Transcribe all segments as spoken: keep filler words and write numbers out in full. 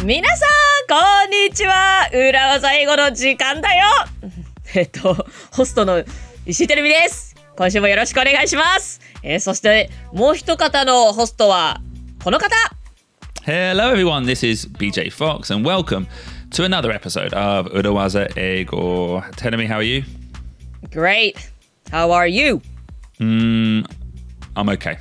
皆さんこんにちは。裏技英語の時間だよ。えっとホストの石井てるみです。今週もよろしくお願いします。えー、そしてもう一方のホストはこの方。 Hello everyone, this is B J Fox and welcome to another episode of Urawaza Eigo. Terumi, how are you? Great. How are you? Mm, I'm okay.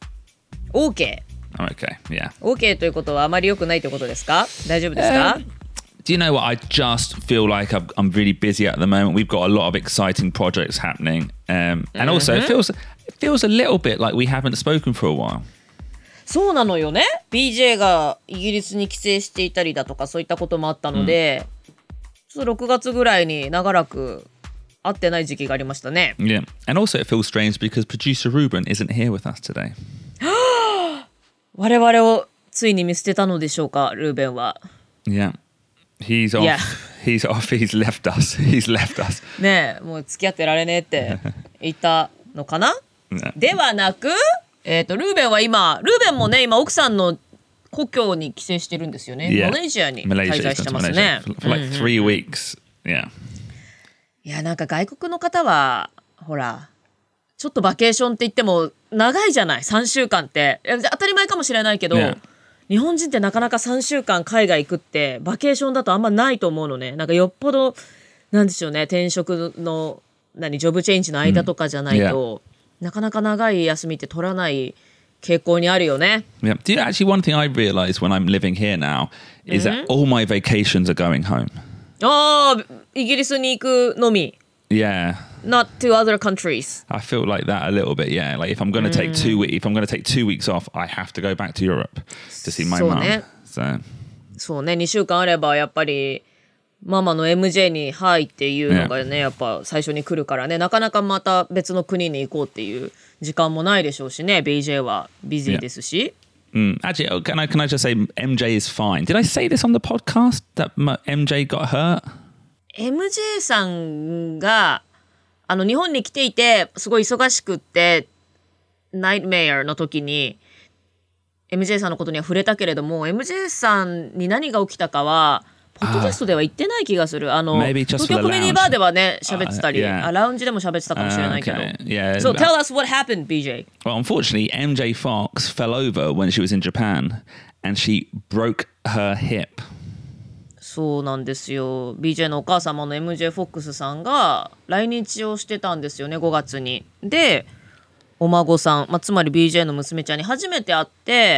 OK。 I'm okay, yeah. OK ということはあまり良くないということですか？大丈夫ですか？ Um, do you know what? I just feel like I've, I'm really busy at the moment. We've got a lot of exciting projects happening. Um, and also, it feels, it feels a little bit like we haven't spoken for a while. そうなのよね。 ビージェー がイギリスに帰省していたりだとかそういったこともあったので、うん、ちょっとろくがつぐらいに長らく会ってない時期がありましたね。 Yeah, and also it feels strange because producer Ruben isn't here with us today. 我々をついに見捨てたのでしょうか、ルーベンは。 Yeah, he's off. Yeah. He's off. He's left us. He's left us. ねえ、もう付き合ってられねえって言ったのかな。ではなく、えっとルーベンは今、ルーベンもね今奥さんの故郷に帰省してるんですよね。 Yeah. マレーシアに滞在してますね。 For like three weeks. Yeah. いや、なんか外国の方はほらちょっとバケーションって言っても長いじゃない。さんしゅうかんって当たり前かもしれないけど、 Yeah. 日本人ってなかなかさんしゅうかん海外行くってバケーションだとあんまないと思うのね。なんかよっぽどなんでしょうね、転職の何ジョブチェンジの間とかじゃないと、mm. なかなか長い休みって取らない傾向にあるよね。 Yeah. Do you know, actually one thing I realize when I'm living here now is that all my vacations are going home. ああ、イギリスに行くのみ。 Yeah. Not to other countries. I feel like that a little bit, yeah. Like if I'm going to take two weeks, if I'm going to take two weeks off, I have to go back to Europe to see my mum. そうね。 So. そうね、にしゅうかんあればやっぱりママの エムジェー にはいっていうのがね、やっぱ最初に来るからね、なかなかまた別の国に行こうっていう時間もないでしょうしね。 ビージェー はビジーですし。 Yeah. Mm. Actually, can I, can I just say M J is fine. Did I say this on the podcast that M J got hurt? エムジェー さんがあの日本に来ていてすごい忙しくってナイトメアの時に エムジェー さんのことには触れたけれども、 エムジェー さんに何が起きたかはポッドキャストでは言ってない気がする。あの東京コメディバーではね喋ってたり、 uh, yeah. あラウンジでも喋ってたかもしれないけど、uh, okay. yeah. So tell us what happened, B J. Well, unfortunately, M J Fox fell over when she was in Japan and she broke her hip. そうなんですよ。 ビージェー のお母様の エムジェー フォックスさんが来日をしてたんですよね、ごがつに。でお孫さん、まあ、つまり ビージェー の娘ちゃんに初めて会って、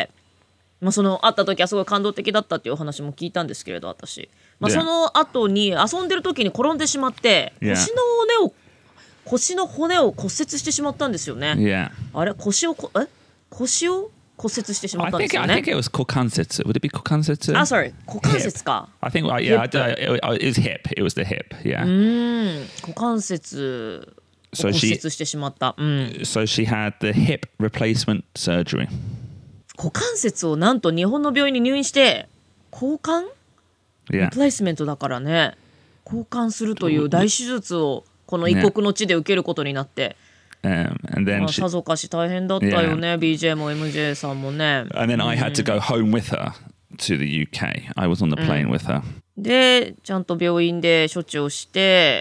まあ、その会った時はすごい感動的だったっていうお話も聞いたんですけれど、私、まあ、その後に遊んでる時に転んでしまって、yeah. 腰の骨を腰の骨を骨折してしまったんですよね。 Yeah. あれ腰をこえ腰を骨折してしまったんですよね。 I think, I think it was 股関節。Would it be 股関節？ Ah, sorry. 股関節か。 I think, yeah, I, it, it was hip. It was the hip, yeah. うーん、股関節を骨折してしまった。うん。 So she had the hip replacement surgery. 股関節をなんと日本の病院に入院して交換？ Yeah. リプレイスメントだからね。交換するという大手術をこの異国の地で受けることになって。 Um, and then まあ、さぞかし大変だったよね、yeah. ビージェー も エムジェー さんもね。 And then I had to go home with her to the U K. I was on the plane、うん、with her. で、ちゃんと病院で処置をして、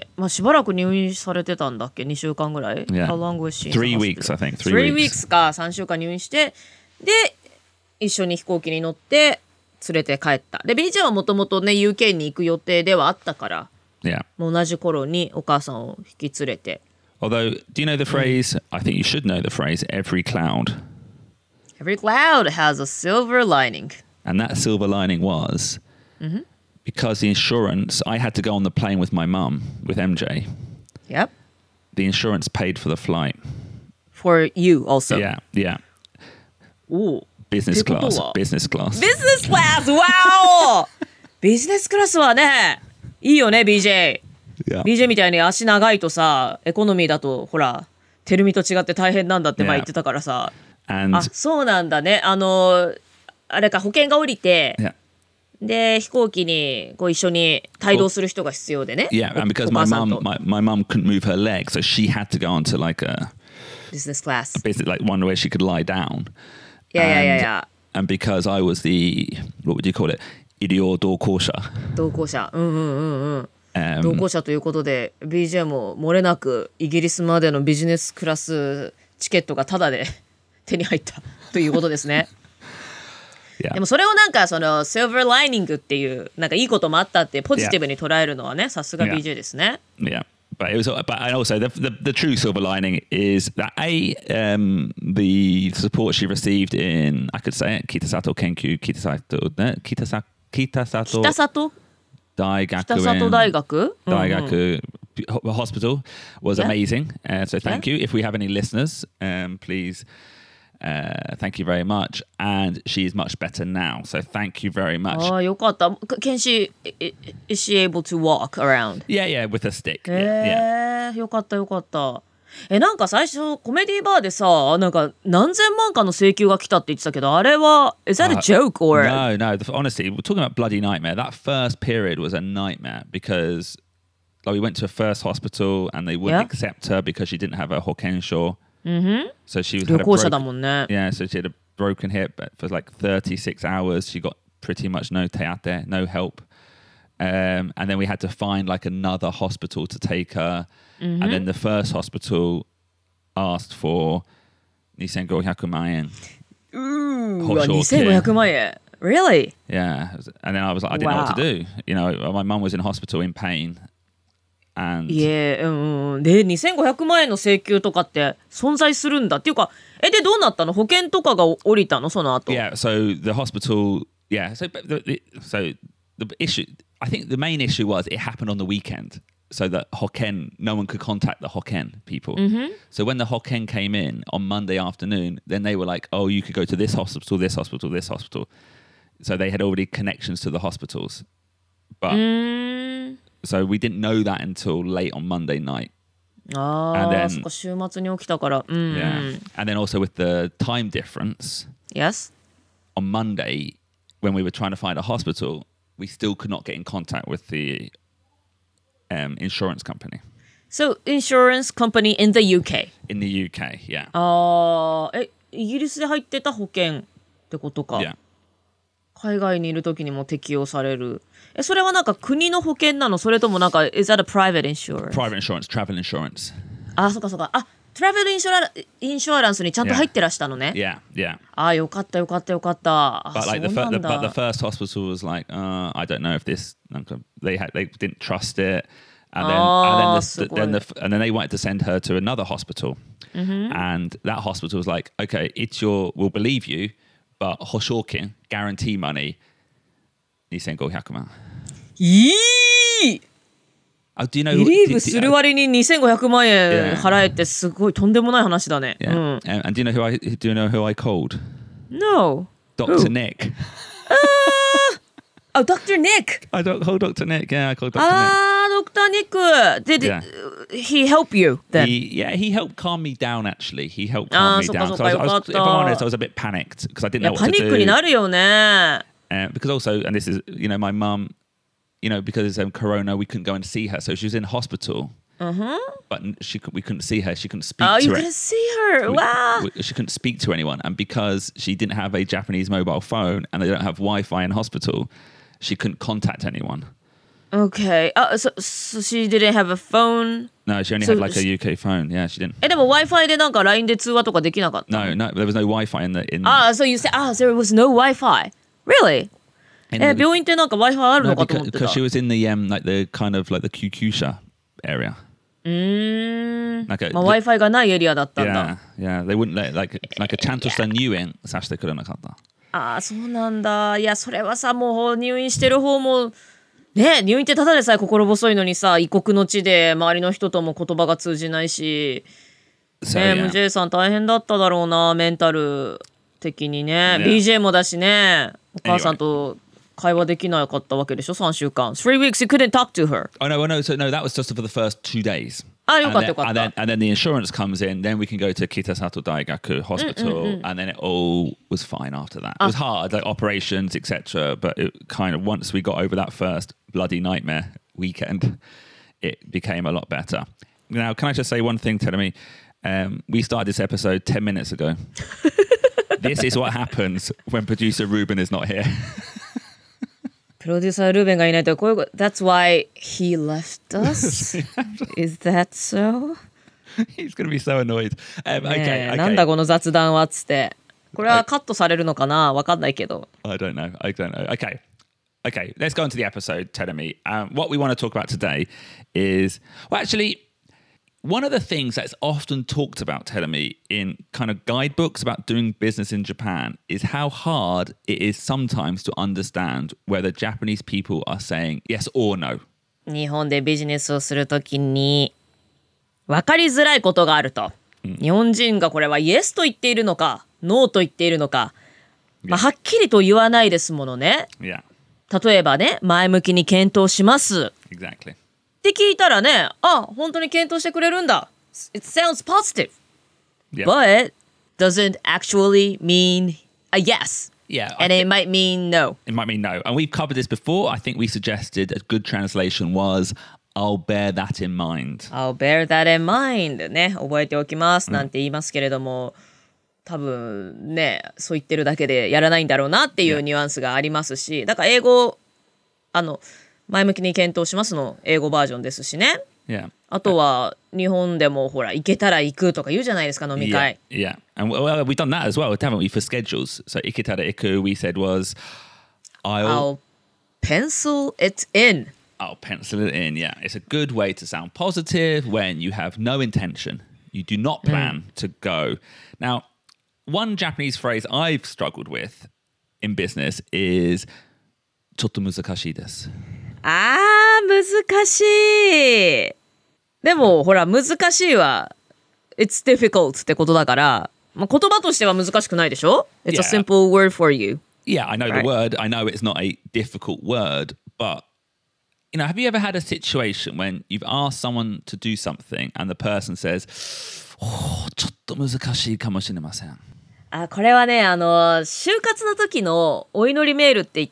まあ、しばらく入院されてたんだっけ？にしゅうかんぐらい、 yeah. How long was she? Three weeks, I think. Three weeks か、さんしゅうかん入院して、で、一緒に飛行機に乗って連れて帰った。で、ビージェー はもともとね、ユーケー に行く予定ではあったから、 yeah. もう同じ頃にお母さんを引き連れて。 Although, do you know the phrase? I think you should know the phrase. Every cloud. Every cloud has a silver lining. And that silver lining was mm-hmm. because the insurance. I had to go on the plane with my mum with M J. Yep. The insurance paid for the flight. For you also. Yeah, yeah. Ooh. Business class. Business class. Business class. Wow. ビジネスクラスはね、いいよね ビージェー。 Yeah. ビージェー みたいに足長いとさ、エコノミーだとほらテルミと違って大変なんだって前言ってたからさ、 yeah. あ、そうなんだね。あのあれか保険が降りて、 yeah. で飛行機にこう一緒に帯同する人が必要でね。 Yeah, and because my mum my, my mum couldn't move her leg, so she had to go onto like a business class, basically like one where she could lie down. Yeah, and, yeah, yeah, yeah. And because I was the what would you call it? 医療同行者。 同行者うんうんうんうん Um, 同行者ということで ビージェー も漏れなくイギリスまでのビジネスクラスチケットがタダで手に入ったということですね。 yeah. でもそれをなんかそのシルバーライニングっていうなんかいいこともあったってポジティブに捉えるのはねさすが ビージェー ですね。 Yeah. But it was, but and also the, the the true silver lining is that a um the support she received in I could say it Kitasato Kenkyu Kitasato Kitasato Kitasato 北里 Daigaku 北里大学 Daigaku Hospital was Yeah. amazing. Uh, so thank Yeah. you. If we have any listeners, um, please, uh, thank you very much. And she is much better now. So thank you very much. ああよかった。Can she is she able to walk around? Yeah, yeah, with a stick. へ Yeah, yeah. えよかったよかった。えなんか最初コメディバーでさなんか何千万かの請求が来たって言ってたけどあれは is that a joke or No, no. The, honestly, we're talking about bloody nightmare. That first period was a nightmare because like we went to a first hospital and they wouldn't Yeah. accept her because she didn't have a hokensho. Mm-hmm. So she was 旅 had a 行者だ broken, もんね。 yeah. So she had a broken hip but for like thirty-six hours. She got pretty much no teate, no help. Um, and then we had to find like another hospital to take her. Mm-hmm. And then the first hospital asked for two thousand five hundred万円. うわにせんごひゃくまんえん Really? Yeah. And then I was like, I didn't know what to do. You know, my mum was in hospital in pain. And いえうんうんでにせんごひゃくまんえんの請求とかって存在するんだっていうかえでどうなったの保険とかが降りたのその後 yeah, so the hospital, yeah. So, but the, the, so the issue, I think the main issue was it happened on the weekend. So that Hokken, no one could contact the Hokken people. Mm-hmm. So when the Hokken came in on Monday afternoon, then they were like, oh, you could go to this hospital, this hospital, this hospital. So they had already connections to the hospitals. But Mm. so we didn't know that until late on Monday night. あ And あ then- そっか週末に起きたからうん、うん、 Yeah. And then also with the time difference, Yes? on Monday, when we were trying to find a hospital, we still could not get in contact with the um, insurance company So insurance company in the ユーケー in the U K. Yeah. ああえイギリスで入ってた保険ってことか、 Yeah. 海外にいる時にも適用されるえそれはなんか国の保険なのそれともなんか is that a private insurance? Private insurance, travel insurance. あそっかそっかあトラベルインシュラインシュアランスにちゃんと入ってらしたのね、 Yeah, yeah. あよかったよかったよかったあ But そ like う the, な fir- the んだ but the first hospital was like, uh, I don't know if this. They had they didn't trust it, and then Oh, and then, the, then the and then they wanted to send her to another hospital, and that hospital was like, okay, it's your we'll believe you, but hoshokin guarantee money. two thousand five hundred万. いい Oh, do you know? ビ who- リー do- ブ do- する割ににせんごひゃくまんえん Yeah. 払えってすごいとんでもない話だね、 Yeah. うん And, and do you know who I do you know who I called? No Doctor Nick. あ、ドクター Nick I don't call Doctor Nick. Yeah, I called Doctor あードクター Nick Did Yeah. he help you then? Nick. He, yeah, he helped calm me down. Actually, he helped Ah, calm me so- down. so- So I was, I was, so- if I'm honest, I was a bit panicked because I didn't いや know パ what ニ to ックに do. なるよね Uh, because also, and this is, you know, my mum, you know, because of um, Corona, we couldn't go and see her, so she was in hospital. But n- she could, we couldn't see her. She couldn't speak Oh, to you her. couldn't see her. We- Wow. we- she couldn't speak to anyone, and because she didn't have a Japanese mobile phone and they don't have Wi-Fi in hospital, she couldn't contact anyone. Okay. Uh, so, so she didn't have a phone. No, she only So had like a she- U K phone. Yeah, she didn't. え、でも Wi-Fi でなんか ライン で通話とかできなかった No, no, there was no Wi-Fi in the in. ああ、so you say, ああ、there was no Wi-Fi. Really? in え、 the- 病院ってなんか Wi-Fi ある no, のかと思 because, ってた。 because she was in the um like the kind of like the Kyukyusha area. うーん。 なんかまあ Wi-Fi がないエリアだったんだ。 Yeah, yeah. They wouldn't let like like a ちゃんとした入園させてくれなかった。 ああ、そうなんだ。いや、それはさ、もう入院してる方も、ね、入院ってただでさえ心細いのにさ、異国の地で周りの人とも言葉が通じないし、 So, ね、 yeah. エムジェー さん大変だっただろうな、メンタル的にね。 Yeah. ビージェー もだしね、お母さんと会話できなかったわけでしょ、さんしゅうかん。three weeks you couldn't talk to her. Oh no, oh, no, so no, that was just for the first two days. あ、よ And かった then, よかっ and, た then, and then the insurance comes in, then we can go to Kitasato Daigaku Hospital, and then it all was fine after that. It was hard, like operations, et cetera. But it kind of once we got over that first bloody nightmare weekend, it became a lot better. Now, can I just say one thing, Teremi? Um, we started this episode ten minutes ago. This is what happens when producer Ruben is not here. プロデューサールーベンがいないとこういうこと That's why he left us? Is that so? He's going to be so annoyed. Um, ね okay, え okay. なんだこの雑談はっつってこれはカットされるのかなわかんないけど I don't know. I don't know. Okay. Okay, let's go into the episode, Terumi. Um, what we want to talk about today is, well, actually, one of the things that's often talked about, Terumi, in kind of guidebooks about doing business in Japan is how hard it is sometimes to understand whether Japanese people are saying yes or no. 日本でビジネスをするときに分かりづらいことがあると、うん、日本人がこれはイエスと言っているのかノーと言っているのか、まあ、はっきりと言わないですものね、 yeah. 例えばね前向きに検討します、 exactly. って聞いたらねあ本当に検討してくれるんだ It sounds positive、yeah. But doesn't actually mean a yes Yeah, and it might mean no. It might mean no. And we've covered this before. I think we suggested a good translation was I'll bear that in mind. I'll bear that in mind ね覚えておきますなんて言いますけれども、うん、多分ねそう言ってるだけでやらないんだろうなっていうニュアンスがありますし、だから英語あの前向きに検討しますの英語バージョンですしね。 Yeah. あとは日本でもほら行けたら行くとか言うじゃないですか飲み会。 Yeah, yeah. And well, we've done that as well, haven't we, for schedules? So iketara iku, we said was I'll, I'll pencil it in. I'll pencil it in, yeah. It's a good way to sound positive when you have no intention. You do not plan mm. to go. Now, one Japanese phrase I've struggled with in business is ちょっと難しいです。 あー難しいでもほら難しいは It's difficult ってことだから、まあ、言葉としては難しくないでしょ It's yeah. a simple word for you. Yeah, I know right? the word. I know it's not a difficult word, but you know, have you ever had a situation when you've asked someone to do something and the person says, ちょっと難しいかもしれません。 あこれはねあの就活の時のお祈りメールって言って、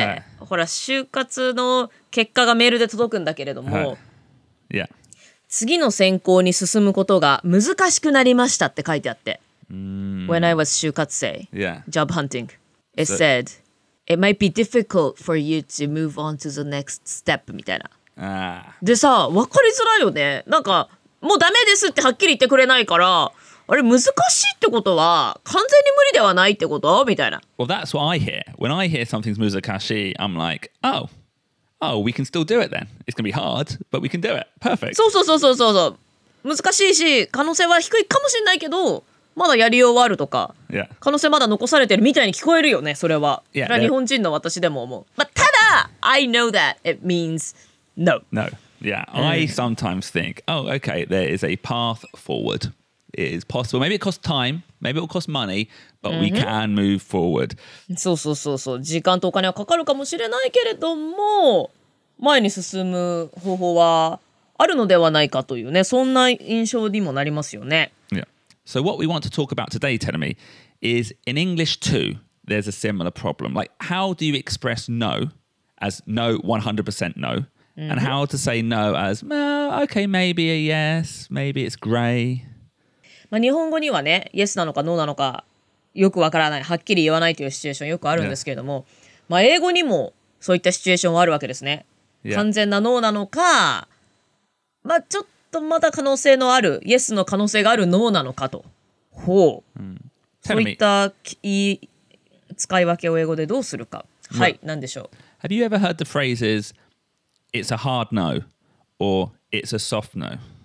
はい、ほら就活の結果がメールで届くんだけれども、 はい yeah. 次の選考に進むことが難しくなりましたって書いてあって、 mm. When I was 就活生、 yeah. job hunting it so, said it might be difficult for you to move on to the next step みたいな、 ah. でさ分かりづらいよねなんかもうダメですってはっきり言ってくれないからあれ難しいってことは完全に無理ではないってことみたいな。 Well, that's what I hear. When I hear something's muzakashi, I'm like, oh, oh, we can still do it then. It's going to be hard, but we can do it. Perfect. そうそうそうそうそう難しいし可能性は低いかもしれないけどまだやりようはあるとか、 yeah. 可能性まだ残されてるみたいに聞こえるよねそれは。 Yeah, それは日本人の私でも思う。まあ、ただ I know that it means no. No. Yeah. I sometimes think, oh, okay, there is a path forward. It is possible. Maybe it costs time. Maybe it will cost money, but、mm-hmm. we can move forward. そうそうそうそう。時間とお金はかかるかもしれないけれども、前に進む方法はあるのではないかというね、そんな印象にもなりますよね。 Yeah. So what we want to talk about today, Terumi, is in English too, there's a similar problem. Like, how do you express no as no, one hundred percent no?、Mm-hmm. And how to say no as, well, okay, maybe a yes, maybe it's grey. まあ、日本語にはね、イエスなのかノーなのかよくわからない、はっきり言わないというシチュエーションよくあるんですけれども、yeah. まあ、英語にもそういったシチュエーションはあるわけですね。Yeah. 完全なノーなのか、まあ、ちょっとまだ可能性のある、イエスの可能性があるノーなのかと。ほう。うん、そういったいい使い分けを英語でどうするか。Mm. はい、何でしょう。 Have you ever heard the phrases, it's a hard no, or it's a soft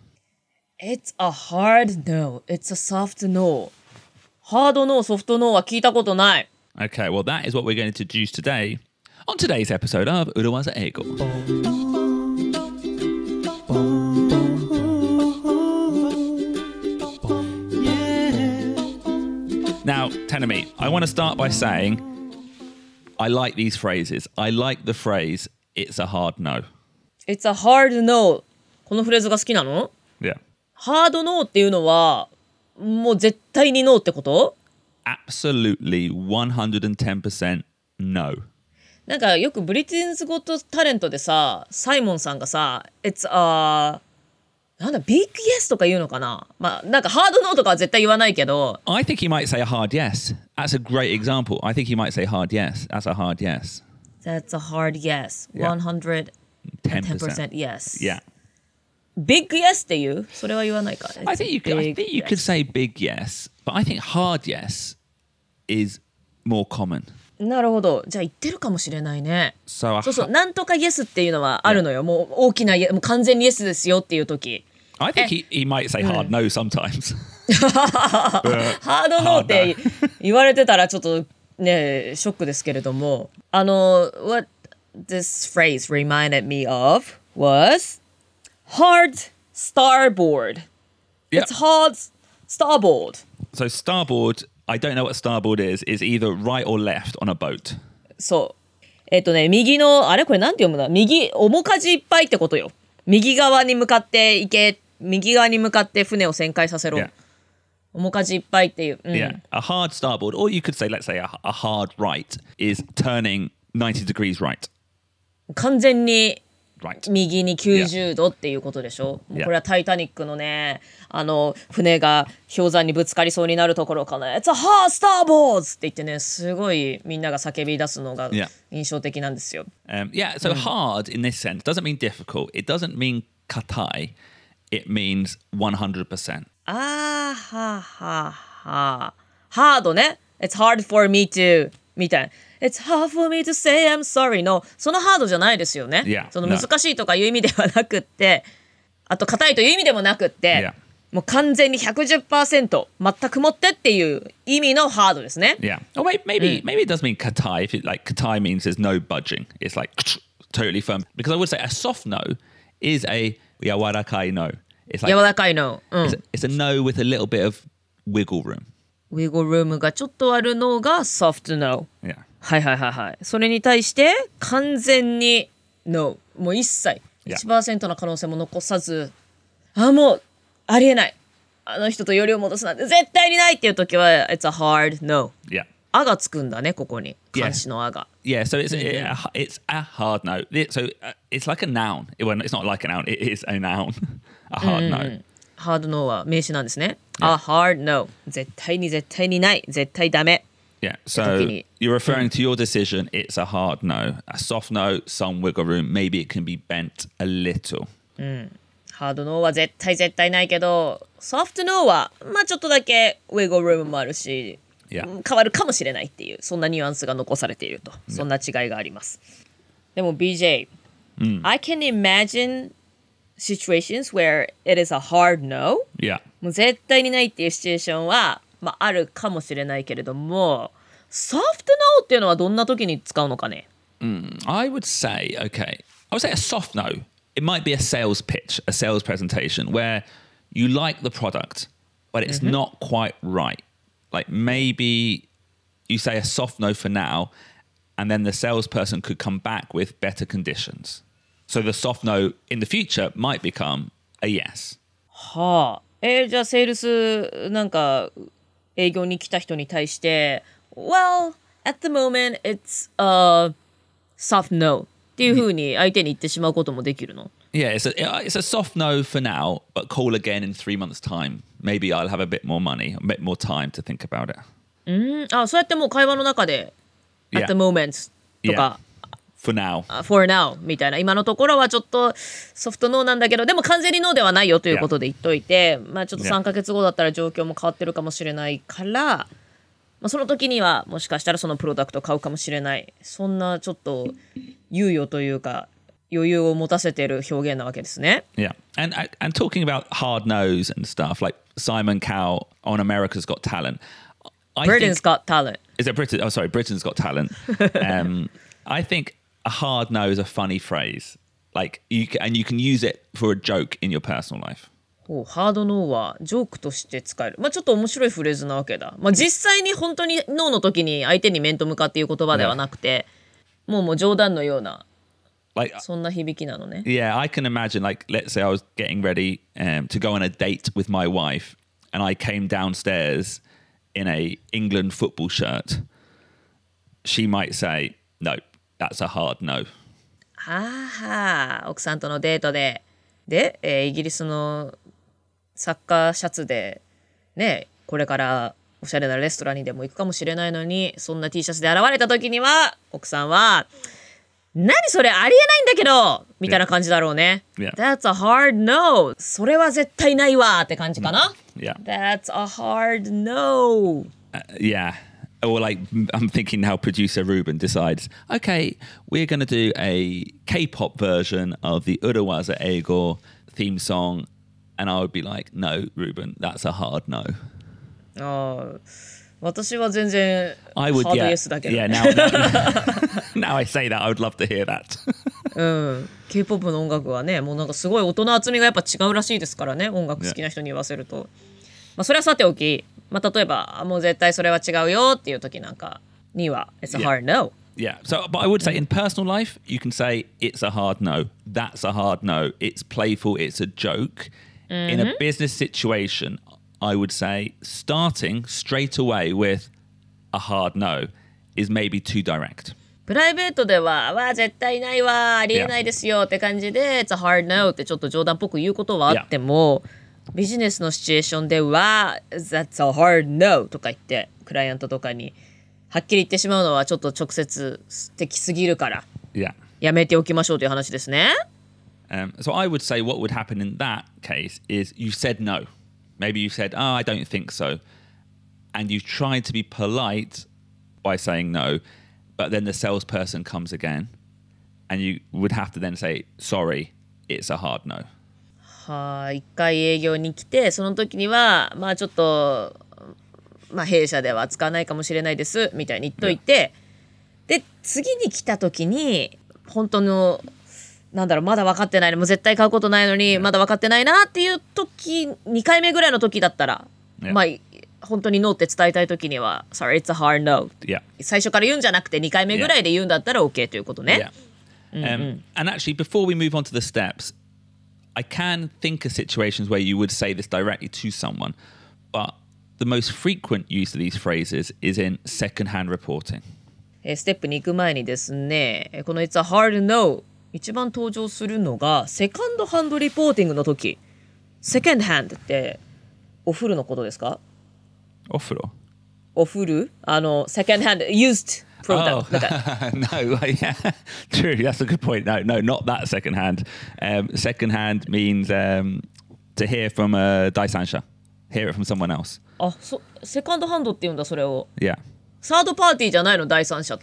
no?It's a hard no. It's a soft no. ハードノー、ソフトノーは聞いたことない。 Okay, well that is what we're going to introduce today on today's episode of Urawaza Eigo. Now, Terumi, I want to start by saying I like these phrases. I like the phrase, it's a hard no. It's a hard no. このフレーズが好きなの ？Yeah. ハードノーっていうのはもう絶対にノーってこと？ Absolutely one hundred ten percent no. なんかよくブリティンズゴットタレントでさ、サイモンさんがさ、It's a なんだビッグイエスとか言うのかな。まあなんかハードノーとかは絶対言わないけど。 I think he might say a hard yes. That's a great example. I think he might say hard yes. That's a hard yes. That's a hard yes. Yeah. one hundred ten ten percent. percent yes. Yeah. Big yes っていうそれは言わないか。 I think you could, I Big think you could yes. say big yes, but I think hard yes is more common. なるほど。じゃあ言ってるかもしれないね。 So a そうそう。 ha- なんとかイエスっていうのはあるのよ。もう大きなイエ、もう完全にイエスですよっていう時。 I think he, he might say hard no sometimes. ハードノーって言われてたらちょっとねショックですけれども、あの what this phrase reminded me of was hard starboard. Yeah. It's hard starboard. So starboard, I don't know what starboard is, is either right or left on a boat. そうえっ、とね右のあれこれなんて読むんだ、右面舵いっぱいってことよ。右側に向かって行け、右側に向かって船を旋回させろ。 Yeah. 面舵いっぱいっていう、うん、 Yeah. A hard starboard, or you could say, let's say a, a hard right is turning ninety degrees right. 完全に Right. 右にきゅうじゅうどっていうことでしょ。もう Yeah. これはタイタニックのね、あの船が氷山にぶつかりそうになるところかな。It's a hard starboard って言ってね、すごいみんなが叫び出すのが Yeah. 印象的なんですよ。 Um, yeah, so hard in this sense doesn't mean difficult. It doesn't mean katai. It means one hundred percent. あーはーはーはー。ハードね。It's hard for me to みたいな。It's hard for me to say I'm sorry のそのハードじゃないですよね。 Yeah. その難しいとかいう意味ではなくって、あと硬いという意味でもなくって、 Yeah. もう完全に ひゃくじゅっパーセント 全くもってっていう意味のハードですね。 Yeah. Or maybe maybe, maybe it does mean katai. If it like katai means there's no budging. It's like totally firm. Because I would say a soft no is a yawarakai no. It's like 柔らかいの。うん。 it's, it's a no with a little bit of wiggle room. ウィゴルームがちょっとあるのが soft no。 Yeah. はいはいはいはい。それに対して完全に no。もう一切 Yeah. いちパーセント の可能性も残さず、あ、もうありえない。あの人とよりを戻すなんて絶対にないっていう時は it's a hard no。 Yeah. あがつくんだね、ここに。 Yeah. 漢詞のあが。 Yeah, so it's a, it's a hard no. It- So uh, it's like a noun. Well, it's not like a noun. It is a noun. A hard no. ハード no は名詞なんですね。a hard no。絶対に絶対にない。絶対ダメ。 Yeah. So Tokini. you're referring to your decision. It's a hard no. A soft no, some wiggle room. Maybe it can be bent a little. ハード no は絶対絶対ないけど、ソフト no はまあちょっとだけウィゴルームもあるし、 Yeah. 変わるかもしれないっていうそんなニュアンスが残されていると、そんな違いがあります。でも ビージェー、I can imagine situations where it is a hard no。 Yeah. もう絶対にないっていうシチュエーションは、まあ、あるかもしれないけれども、ソフト no っていうのはどんな時に使うのかね。 I would say, okay, I would say a soft no. It might be a sales pitch, a sales presentation where you like the product, but it's not quite right. Like maybe you say a soft no for now, and then the salesperson could come back with better conditions. So the soft no in the future might become a yes. はあ、えーじゃあセールスなんか営業に来た人に対して Well, at the moment it's a soft no っていう風に相手に言ってしまうこともできるの？ Yeah, it's a, it's a soft no for now, but call again in three months' time. Maybe I'll have a bit more money, a bit more time to think about it. うん、あ、そうやってもう会話の中で at the moment とか、 For now. for now みたいな、今のところはちょっとソフトノーなんだけどでも完全にノーではないよということで言っといて、まあちょっとさんかげつごだったら状況も変わってるかもしれないから、まあ、その時にはもしかしたらそのプロダクトを買うかもしれない、そんなちょっと猶予というか余裕を持たせている表現なわけですね。 Yeah, and and talking about hard nose and stuff like Simon Cowell on America's Got Talent. I Britain's think, got talent. is it Britain? Oh, sorry, Britain's Got Talent. um, I think a hard no is a funny phrase, like you can, and you can use it for a joke in your personal life. おハードノーはジョークとして使える。まあちょっと面白いフレーズなわけだ。まあ実際に本当にノーの時に相手に面と向かっていう言葉ではなくて、もうもう冗談のような Like, そんな響きなのね。 yeah, I can imagine. Like, let's say I was getting ready um, to go on a date with my wife, and I came downstairs in a England football shirt. She might say, "No, that's a hard no." はあはあ、奥さんとのデートで、で、えーイギリスのサッカーシャツで、ね、これからおしゃれなレストランにでも行くかもしれないのに、そんな T シャツで現れた時には、奥さんは、 何それありえないんだけどみたいな感じだろうね。 Yeah. That's a hard no. それは絶対ないわって感じかな。 Yeah. That's a hard no. Uh, yeah. Or like, I'm thinking how producer Ruben decides, okay, we're going to do a K-pop version of the Urawaza Eigo theme song. And I would be like, no, Ruben, that's a hard no. ああ、私は全然 I would, ハード yeah. イエスだけど。 Yeah, now, now, now I say that, I would love to hear that. うん、K-ポップ の音楽はね、もうなんかすごい音の厚みがやっぱ違うらしいですからね、音楽好きな人に言わせると。まあそれはさておき、まあ例えば、あもう絶対それは違うよっていう時なんかには、It's a hard no. Yeah. So, but I would say in personal life, you can say it's a hard no. That's a hard no. It's playful. It's a joke. In a business situation, I would say starting straight away with a hard no is maybe too direct. プライベートでは、わあ絶対ないわ、ありえないですよって感じで、It's a hard no ってちょっと冗談っぽく言うことはあっても、ビジネスのシチュエーションでは、That's a hard no とか言って、クライアントとかにはっきり言ってしまうのはちょっと直接的すぎるから、 Yeah. やめておきましょうという話ですね。 Um, so I would say what would happen in that case is you said no. Maybe you said, oh, I don't think so. And you tried to be polite by saying no, but then the salesperson comes again and you would have to then say, sorry, it's a hard no. は一回営業に来て、その時には、まあちょっと、まあ弊社では使わないかもしれないです、みたいに言っといて、で、次に来た時に、本当の、なんだろう、まだ分かってないの、もう絶対買うことないのに、まだ分かってないなっていう時、にかいめぐらいの時だったら、 Yeah. まあ、本当にノーって伝えたい時には、Sorry, it's a hard no. Yeah. 最初から言うんじゃなくて、にかいめぐらいで言うんだったら OK ということね。 Yeah. Um, and actually, before we move on to the steps, I can think of situations where you would say this directly to someone, but the most frequent use of these phrases is in second-hand reporting. えーステップに行く前にですね、えーこの It's a hard no 一番登場するのがセカンドハンドリポーティングの時。セカンドハンドってお風呂のことですか？ Ofuro. お風呂あのセカンドハンド used Oh, product なんか no, yeah, true. That's a good point. No, no, not that second hand. Um, second hand means um, to hear from a Daisansha, hear it from someone else. あ、そセカンドハンドって言うんだそれを。 Yeah. サードパーティーじゃないの第三者って。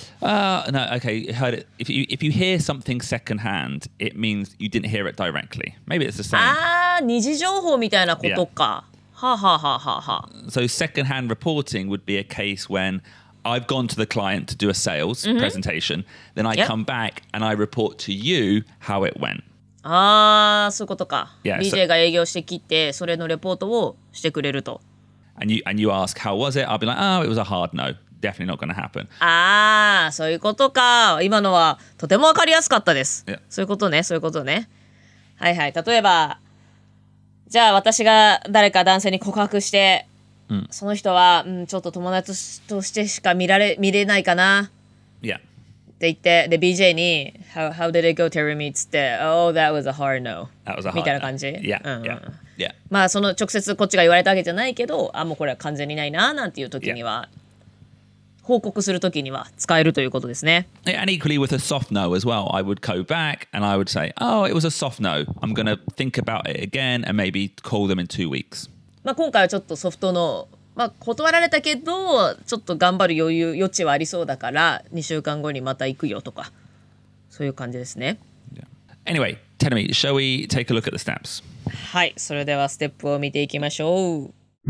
Uh, no, okay. Heard it. If you if you hear something second hand, it means you didn't hear it directly. Maybe it's the same. あー、二次情報みたいなことか。はあ、はあはあはあはあ。 So second hand reporting would be a case when I've gone to the client to do a sales presentation, then I Yep. come back and I report to you how it went. あー、そういうことか。 Yeah, ビージェー が営業してきて、それのレポートをしてくれると。 And you and you ask how was it? I'll be like, oh, it was a hard no. Definitely not going to happen. あー、そういうことか。今のはとてもわかりやすかったです。 Yeah. そういうことね、そういうことね。はいはい。例えば、じゃあ私が誰か男性に告白して、その人は、うん、ちょっと友達としてしか見られ見れないかな Yeah. って言って、で、ビージェー に、How, how did it go, Terry? っつって、Oh, that was a hard no. That was a hard みたいな no. 感じ Yeah, うんうん yeah, yeah. まあ、その直接こっちが言われたわけじゃないけど、あ、もうこれは完全にないな、なんていう時には、報告する時には使えるということですね。 Yeah, and equally with a soft no as well, I would go back and I would say, oh, it was a soft no. I'm going to think about it again and maybe call them in two weeks. まあ、今回はちょっとソフトの、まあ、断られたけどちょっと頑張る余裕余地はありそうだからにしゅうかんごにまた行くよとかそういう感じですね。 Yeah. Anyway, tell me, shall we take a look at the steps? はい、それではステップを見ていきましょう。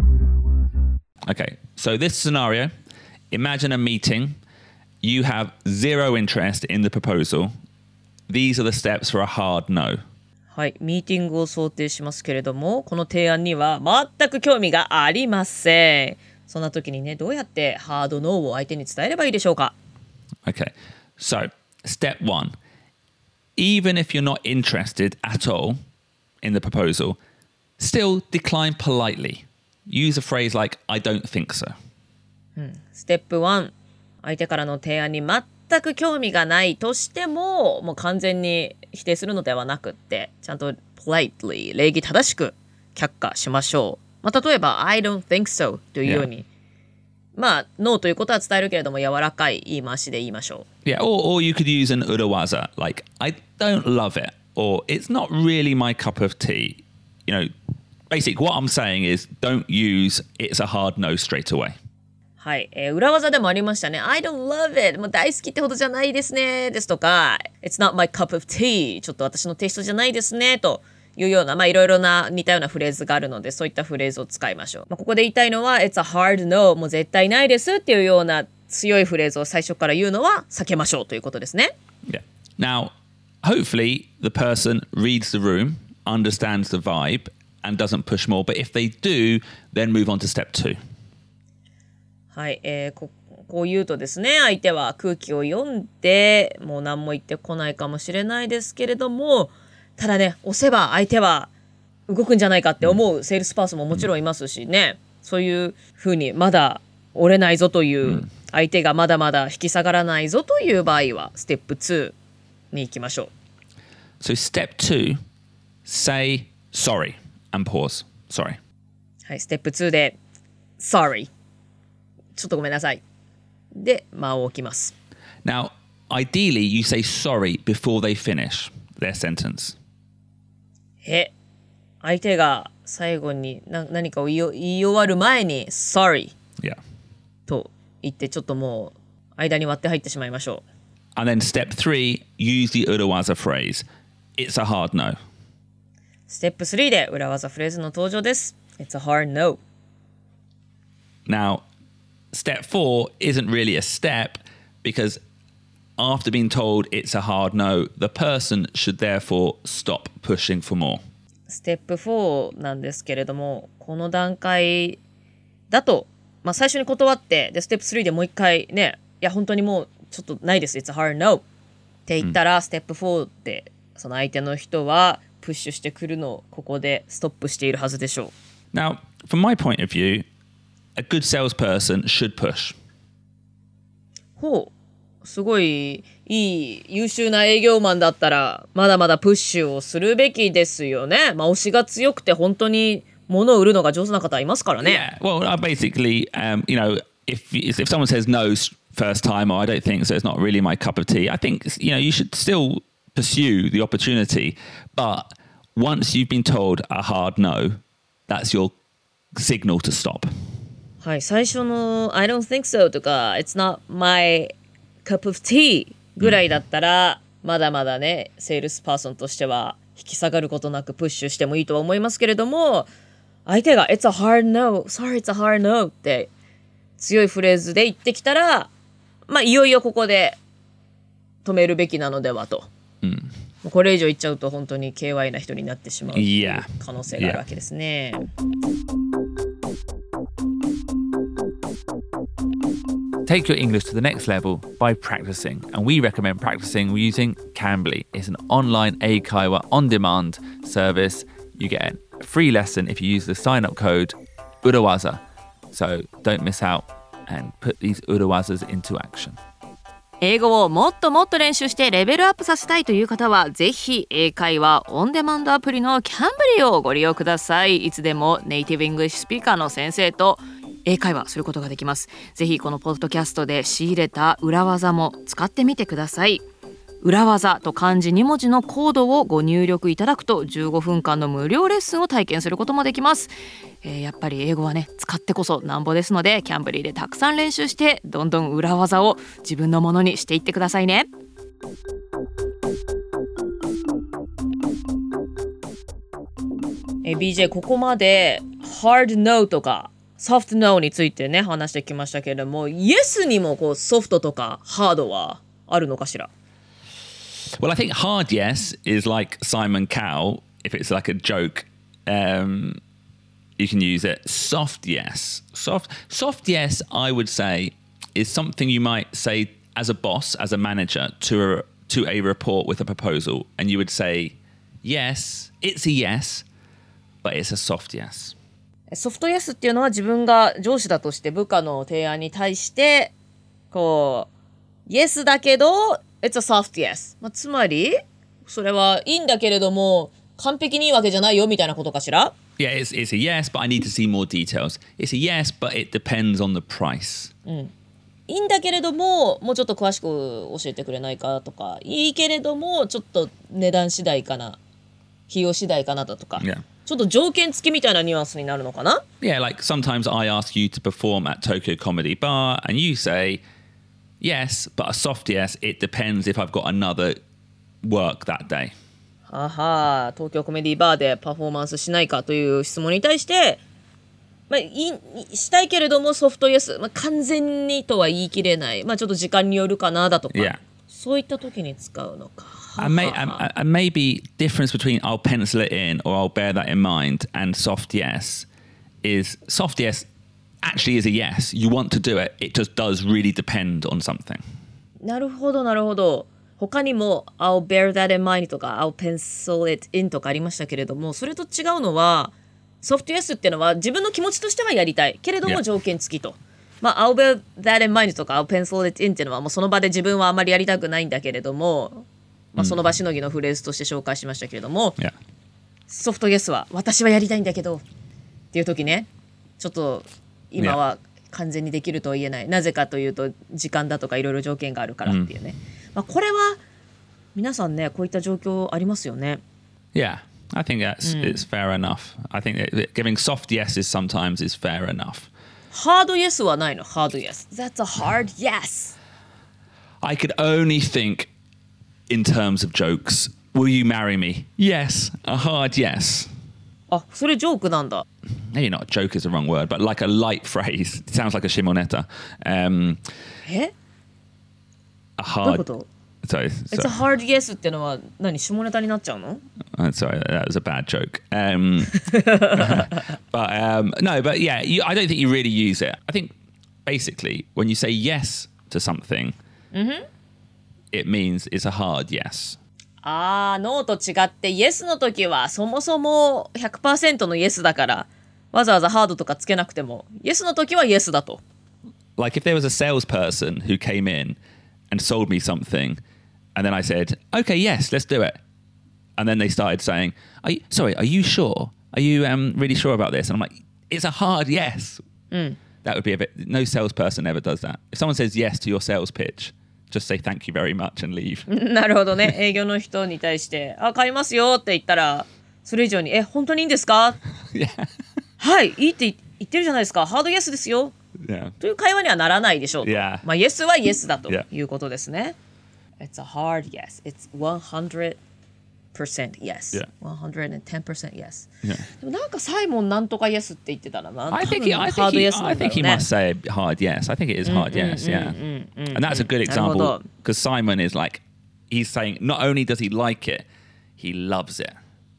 Okay, so this scenario, imagine a meeting. You have zero interest in the proposal. These are the steps for a hard no. はい、ミーティングを想定しますけれどもこの提案には全く興味がありません。そんな時にねどうやってハードノーを相手に伝えればいいでしょうか。 Okay, so step one. Even if you're not interested at all in the proposal, still decline politely. Use a phrase like, I don't think so. ステップワン、相手からの提案に全く興味がないとしてももう完全に否定するのではなくってちゃんと politely 礼儀正しく却下しましょう。まあ、例えば I don't think so というようにまあ、ノーということは伝えるけれども、柔らかい言い回しで言いましょ Yeah, or, or you could use an urawaza, like, I don't love it, or it's not really my cup of tea. You know, basically what I'm saying is don't use it's a hard no straight away. う。はい、えー、裏技でもありましたね。I don't love it. もう大好きってほどじゃないですね。ですとか、It's not my cup of tea. ちょっと私のテイストじゃないですね。というような、まあいろいろな似たようなフレーズがあるので、そういったフレーズを使いましょう。まあ、ここで言いたいのは、It's a hard no. もう絶対ないですっていうような強いフレーズを最初から言うのは避けましょうということですね。 Yeah. Now, hopefully the person reads the room, understands the vibe, and doesn't push more. But if they do, then move on to step two. はい、えー、こ, こう言うとですね、相手は空気を読んでもう何も言ってこないかもしれないですけれども、ただね、押せば相手は動くんじゃないかって思うセールスパーソンももちろんいますしね、そういうふうにまだ折れないぞという、相手がまだまだ引き下がらないぞという場合はステップツーに行きましょう。 So step two, say sorry and pause. Sorry. はい、ステップツーで sorry ちょっとごめんなさいで間を置きます。 Now, ideally you say sorry before they finish their sentence. え、相手が最後にな何かを言い、言い終わる前に sorry Yeah. と言ってちょっともう間に割って入ってしまいましょう。 And then step three, use the urawaza phrase. It's a hard no. ステップスリーで裏技フレーズの登場です。 It's a hard no. Now, step four isn't really a step because after being told it's a hard no, the person should therefore stop pushing for more. ステップフォーなんですけれども、この段階だと、まあ、最初に断ってでステップスリーでもう一回ね、いや本当にもうちょっとないです It's a hard no って言ったら、うん、ステップフォーでその相手の人はプッシュしてくるのをここでストップしているはずでしょう。 Now, from my point of view, a good salesperson should push. ほう、すごいいい優秀な営業マンだったらまだまだプッシュをするべきですよね。まあ推しが強くて本当に物を売るのが上手な方いますからね。 Yeah, well, uh, basically, um, you know, if if someone says no first time, or I don't think so, it's not really my cup of tea. I think you know you should still pursue the opportunity, but once you've been told a hard no, that's your signal to stop. はい、最初の I don't think so とか It's not my cup of tea ぐらいだったら、うん、まだまだねセールスパーソンとしては引き下がることなくプッシュしてもいいとは思いますけれども、相手が It's a hard no sorry it's a hard no って強いフレーズで言ってきたら、まあいよいよここで止めるべきなのではと、うん、これ以上言っちゃうと本当に ケーワイ な人になってしまう可能性があるわけですね。yeah. Take your English to the next level by practicing, and we recommend practicing using Cambly. It's an online Eikaiwa on-demand service. You get a free lesson if you use the sign-up code Urawaza. So don't miss out and put these Urawazas into action. 英語をもっともっと練習してレベルアップさせたいという方はぜひ英会話オンデマンドアプリの Cambly をご利用ください。いつでもネイティブイングリッシュスピーカーの先生と英会話することができます。ぜひこのポッドキャストで仕入れた裏技も使ってみてください。裏技と漢字に文字のコードをご入力いただくとじゅうごふんかんの無料レッスンを体験することもできます。えー、やっぱり英語はね使ってこそなんぼですので、キャンブリーでたくさん練習してどんどん裏技を自分のものにしていってくださいね。えー、ビージェー ここまで hard no とかsoft no についてね話してきましたけれども、 Yes にもこうソフトとかハードはあるのかしら。 Well, I think hard yes is like Simon Cowell. If it's like a joke, um, you can use it. Soft yes. Soft, soft yes, I would say, is something you might say as a boss, as a manager, to a, to a report with a proposal. And you would say, yes, it's a yes, but it's a soft yes. ソフトイエスっていうのは自分が上司だとして部下の提案に対してこうイエスだけど It's a soft yes、まあ、つまりそれはいいんだけれども完璧にいいわけじゃないよみたいなことかしら。 Yeah, it's, it's a yes, but I need to see more details. It's a yes, but it depends on the price. いいんだけれどももうちょっと詳しく教えてくれないかとか、いいけれどもちょっと値段次第かな、費用次第かなだとか、 Yeah. ちょっと条件付きみたいなニュアンスになるのかな。 Yeah, like sometimes I ask you to perform at Tokyo Comedy Bar and you say, yes, but a soft yes, it depends if I've got another work that day. はは、東京コメディバーでパフォーマンスしないかという質問に対して、まあ、いしたいけれどもソフトイエス、まあ、完全にとは言い切れない、まあ、ちょっと時間によるかなだとか、 Yeah. そういった時に使うのか。 And, may, and, and maybe difference between I'll pencil it in or I'll bear that in mind and soft yes is soft yes actually is a yes. You want to do it. It just does really depend on something. なるほどなるほど。他にも I'll bear that in mind とか I'll pencil it in とかありましたけれども、それと違うのはソフトイエスっていうのは自分の気持ちとしてはやりたいけれども Yeah. 条件付きと。まあ I'll bear that in mind とか I'll pencil it in っていうのはもうその場で自分はあまりやりたくないんだけれども、まあ、その場しのぎのフレーズとして紹介しましたけれども、 Yeah. ソフトイエスは私はやりたいんだけどっていう時ね、ちょっと今は完全にできるとは言えない、なぜかというと時間だとかいろいろ条件があるからっていうね、まあ、これは皆さんねこういった状況ありますよね。 Yeah. I think that's it's fair enough. I think that giving soft yeses sometimes is fair enough. ハードイエスはないの。ハードイエス That's a hard yes. I could only think in terms of jokes. Will you marry me? Yes. A hard yes. あ、それジョークなんだ。 Maybe not joke is the wrong word, but like a light phrase. It sounds like a shimoneta. Um, え a どういう hard. こと Sorry, It's a sorry, hard yes ってのは何、下ネタになっちゃうの？ uh, sorry, that was a bad joke. Um, but um, no, but yeah, you, I don't think you really use it. I think basically when you say yes to something, it means it's a hard yes. あー、ノーと違ってイエスの時はそもそも ひゃくパーセント のイエスだからわざわざハードとかつけなくてもイエスの時はイエスだと。 Like if there was a salesperson who came in and sold me something, and then I said, "Okay, yes, let's do it," and then they started saying, are you, "Sorry, are you sure? Are you um, really sure about this?" And I'm like, "It's a hard yes." That would be a bit. No salesperson ever does that. If someone says yes to your sales pitch, just say thank you very much and leave. なるほどね。営業の人に対して「あ、買いますよ」って言ったらそれ以上に「え、本当にいいんですか？」 Yeah, はいいいって言ってるじゃないですか、ハードイエスですよ yeah, という会話にはならないでしょうと。 Yeah. まあイエスはイエスだと Yeah. いうことですね。It's a hard yes. It's one hundred percent yes. Yeah. one hundred ten percent yes. yeah. でもなんかサイモンなんとかイエスって言ってたらな。 I think he, 多分 I ハー think ドイ he, エスな I んだろ think う he ね。 must say hard yes. I think it is hard yes. Yeah, and that's a good example 나름대로. because Simon is like, he's saying not only does he like it, he loves it.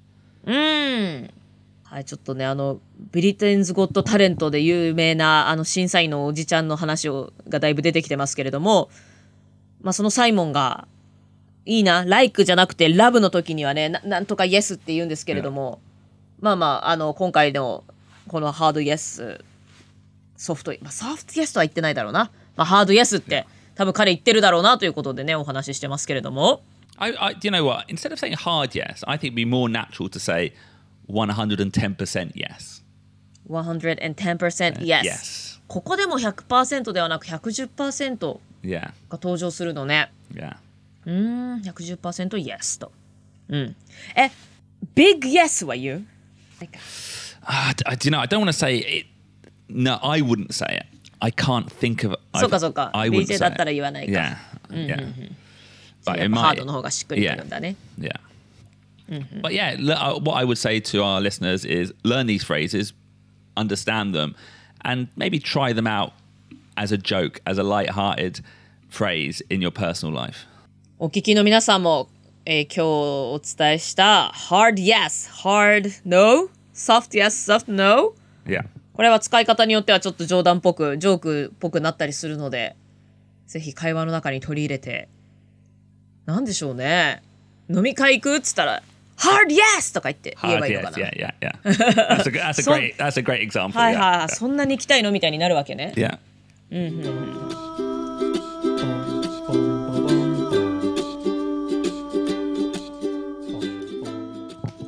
はい、ちょっとね、あのブリテンズ・ゴット・タレントで有名なあの審査員のおじちゃんの話をがだいぶ出てきてますけれども、まあ、そのサイモンがいいな、ライクじゃなくてラブの時にはね、ななんとかイエスって言うんですけれども、まあまあ、あの今回のこのハードイエス、ソフト、まあ、ソフトイエスとは言ってないだろうな、まあ、ハードイエスって多分彼言ってるだろうなということでね、お話ししてますけれども。 I, I, do you know what? Instead of saying hard yes, I think it'd be more natural to say one hundred ten percent yes. one hundred ten percent yes. Yes. ここでも ひゃくパーセント ではなく ひゃくじゅっパーセント Yeah, が登場するのね。 yeah. うーん、ひゃくじゅっパーセント yes と。うん。え、big yes は言う？ Uh, do you know? I don't want to say it. No, I wouldn't say it. I can't think of. そうかそうか。 I wouldn't ビージェー say だったら it. 言わないか。 Yeah, yeah. But やっ it ぱハー might. ドの方がしっくりくるんだね。 Yeah. But yeah, le- uh, what I would say to our listeners is learn these phrases, understand them, and maybe try them out as a joke, as a light-hearted phrase in your personal life. お聞きの皆さんも、えー今日お伝えした hard yes, hard no, soft yes, soft no。 Yeah. これは使い方によってはちょっと冗談っぽく、ジョークっぽくなったりするので、ぜひ会話の中に取り入れて、なんでしょうね。飲み会行くっつったら、hard yes とか言って言え Hard ばいいのか yes. な。 Yeah, yeah, yeah. That's a, that's a So- great. That's a great example. はい Yeah. はいはい。そんなに行きたいのみたいになるわけね。 Yeah.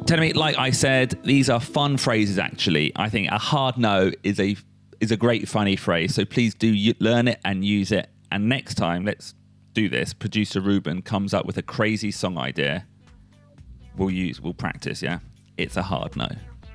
Tell me, like I said, these are fun phrases. Actually, I think a hard no is a is a great funny phrase. So please do learn it and use it. And next time, let's do this. Producer Ruben comes up with a crazy song idea. We'll use, we'll practice. Yeah, it's a hard no.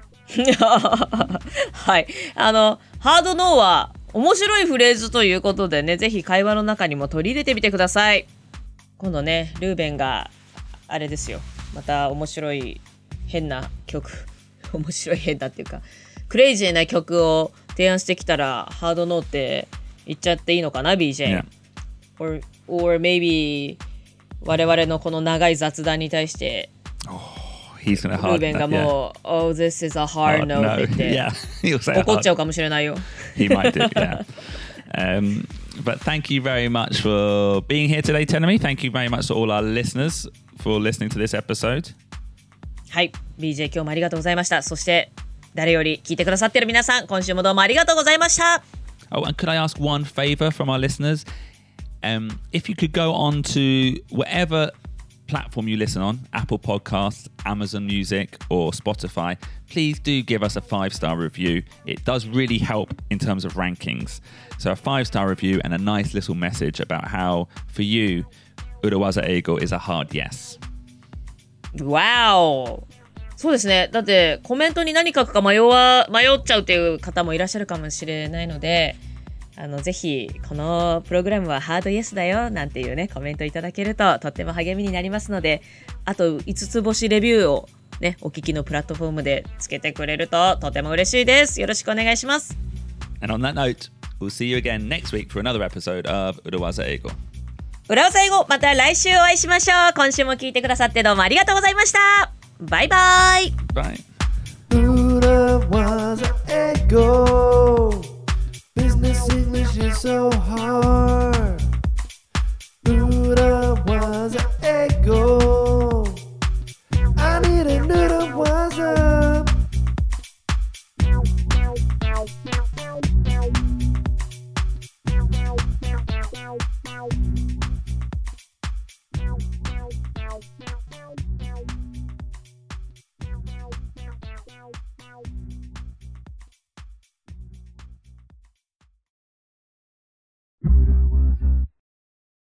はい、あのハードノーは面白いフレーズということでね、ぜひ会話の中にも取り入れてみてください。今度ね、ルーベンがあれですよ、また面白い変な曲面白い変なっていうかクレイジーな曲を提案してきたらハードノーって言っちゃっていいのかな ビージェー、yeah. or, or maybe 我々のこの長い雑談に対して、 oh, he's gonna ルーベンがもう、yeah. oh this is a hard no って言って、yeah. 怒っちゃうかもしれないよ。 He might do, yeah. Um, but thank you very much for being here today, Tenemi. Thank you very much to all our listeners for listening to this episode. はい、ビージェー 今日もありがとうございました。そして誰より聞いてくださっている皆さん、今週もどうもありがとうございました。 Oh, and could I ask one favor from our listeners? Um, if you could go on to whatever platform you listen on, Apple Podcasts, Amazon Music, or Spotify, please do give us a five-star review. It does really help in terms of rankings. So a five-star review and a nice little message about how, for you, Urawaza Eigo is a hard yes. Wow! そうですね。だってコメントに何書くか迷わ迷っちゃうっていう方もいらっしゃるかもしれないので、あのぜひこのプログラムはハードイエスだよなんていうねコメントいただけるととっても励みになりますので、あといつつ星レビューをねお聞きのプラットフォームでつけてくれるととても嬉しいです。よろしくお願いします。 And on that note, we'll see you again next week for another episode of Urawaza Eigo. 裏技英語、また来週お会いしましょう。今週も聞いてくださってどうもありがとうございました。バイバイ。 バイ。